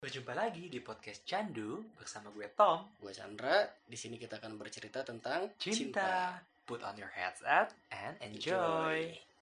Berjumpa lagi di podcast Candu bersama gue Tom. Gue Chandra. Di sini kita akan bercerita tentang Cinta. Put on your headset and enjoy.